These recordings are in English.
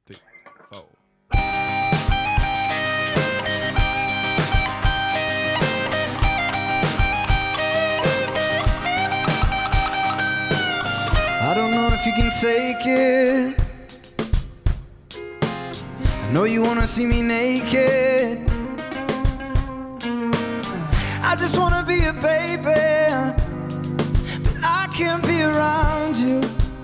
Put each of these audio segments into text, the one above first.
3, 4. I don't know if you can take it. I know you wanna see me naked. I just wanna be a baby, but I can't be around you.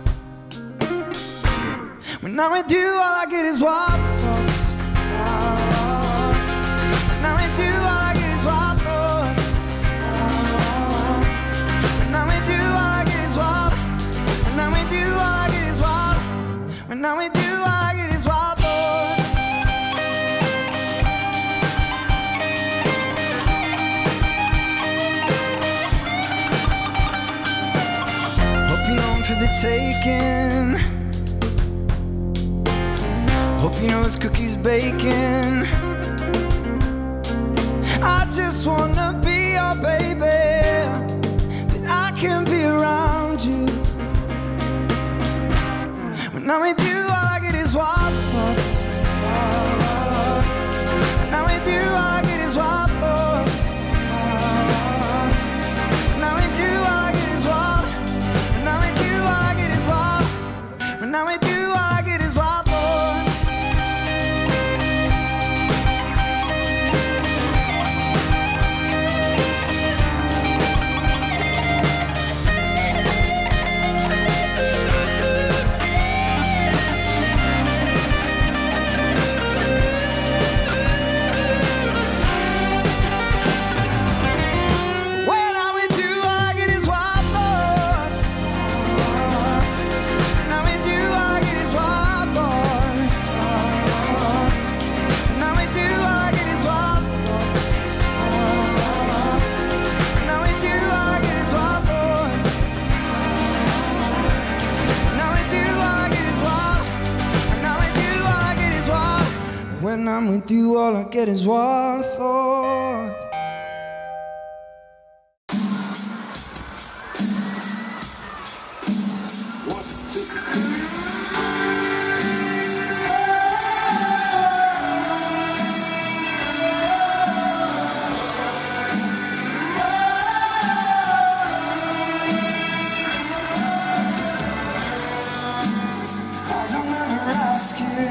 When I'm with you, all I get is wild thoughts. When I'm with you, all I get is wild thoughts. When I'm with you, all I get is wild. When I'm with you, all I get is wild. When I'm with you, all I get is wild thoughts. Hope you know I'm for the taking. Hope you know this cookie's baking. I just wanna be your baby, but I can't be around you. When I'm with you, all I get is wild thoughts. When I'm with you, all I get is wild thoughts. When I'm with you, all I get is wild. When I'm with you, all I get is wild. When I'm with you, all I get is wild thoughts. When I'm with you, all I get is wild thoughts. When I'm with you, all I get is wild thoughts. When I'm with you, all I get is wild thoughts. When I'm with you, all I get is wild thoughts. When I'm with you, all I get is wild. When I'm with you, all I get is wild. When I'm with you, all I get is wild thoughts. I don't ever ask you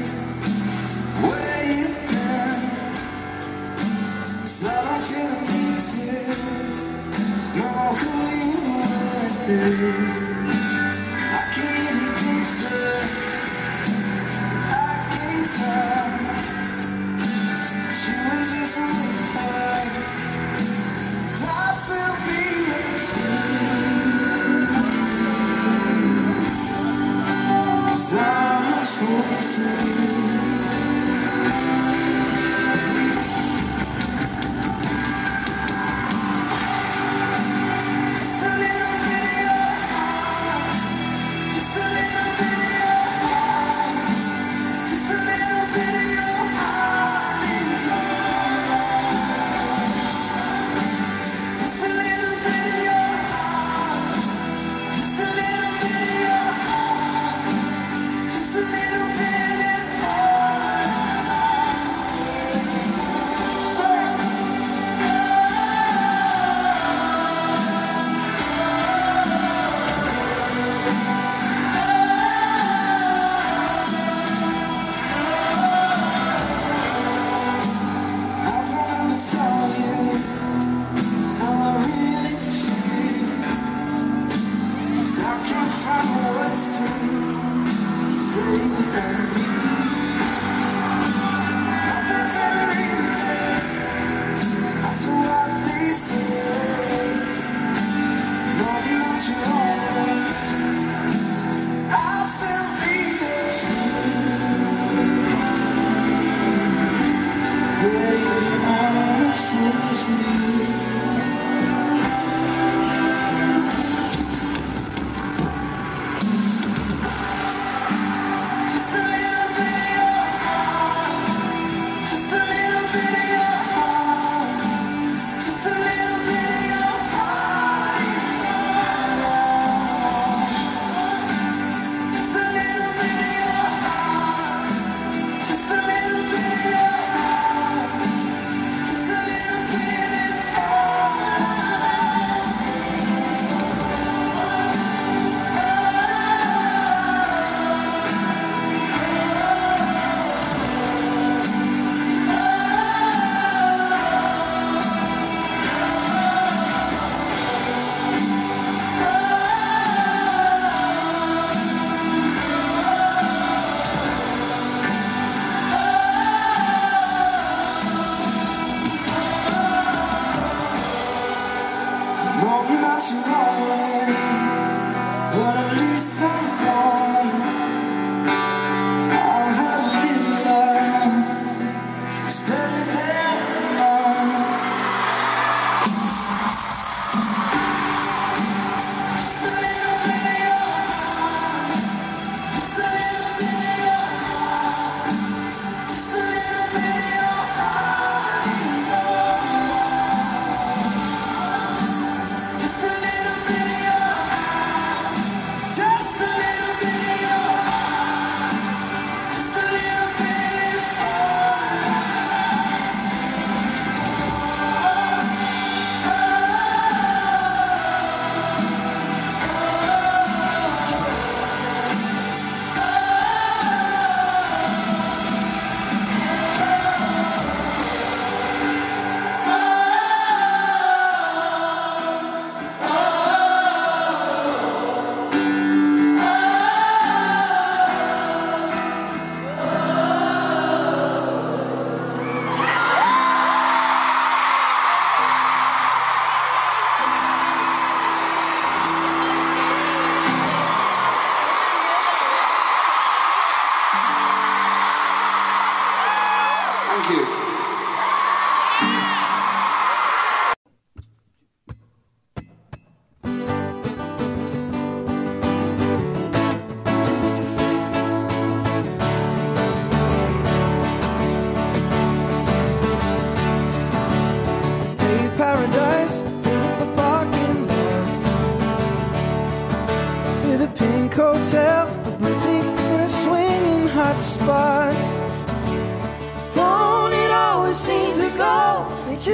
where you've been, 'cause I don't feel the need to know who you were. I can't even picture, I can tell that you were just waiting for. I'll still be your fool, 'cause I'm a fool for you. Just a little bit of your heart, just a little bit of your heart, just a little bit of your heart is all. Just a little bit of your heart, just a little bit of your heart, just a little bit is all.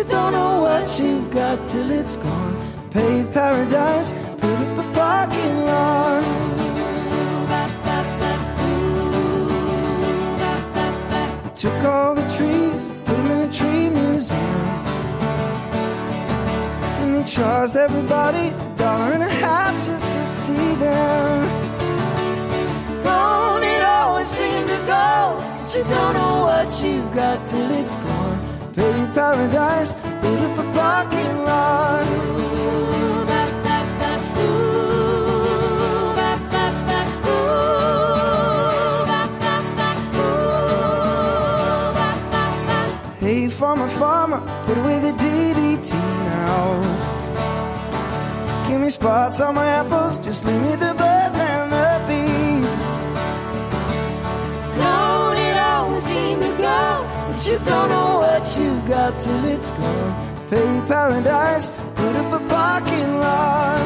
don't know what you've got till it's gone. Paved paradise, put up a parking lot. We took all the trees, put them in a tree museum, and they charged everybody $1.50 just to see them. Don't it always seem to go, but you don't know what you've got till it's gone. Paved paradise, put up a parking lot. Hey, farmer, farmer, put away the DDT now. Give me spots on my apples, just leave me the birds and the bees. Don't it always seem to go, but you don't know what you got till it's gone. Pay paradise, put up a parking lot.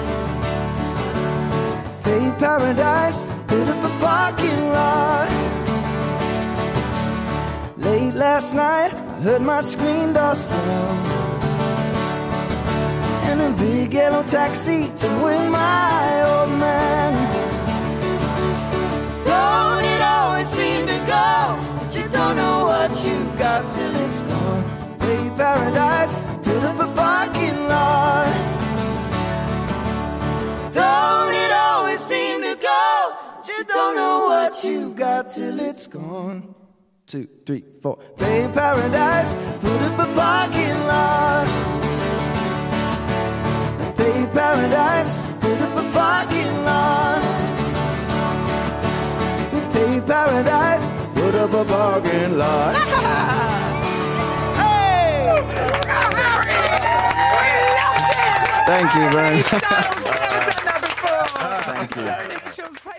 Pay paradise, put up a parking lot. Late last night, I heard my screen door slam, and a big yellow taxi took with my old man. Don't it always seem to go, but you don't know what you got till it's gone. Pay paradise, put up a parking lot. Don't it always seem to go, but you don't know what you got till it's gone. 2, 3, 4. Pay paradise, put up a parking lot. Pay paradise, put up a parking lot. Pay paradise, put up a parking lot. Hey! Oh, Harry! We loved it! Thank you, Vern. We've never done that before. Thank you.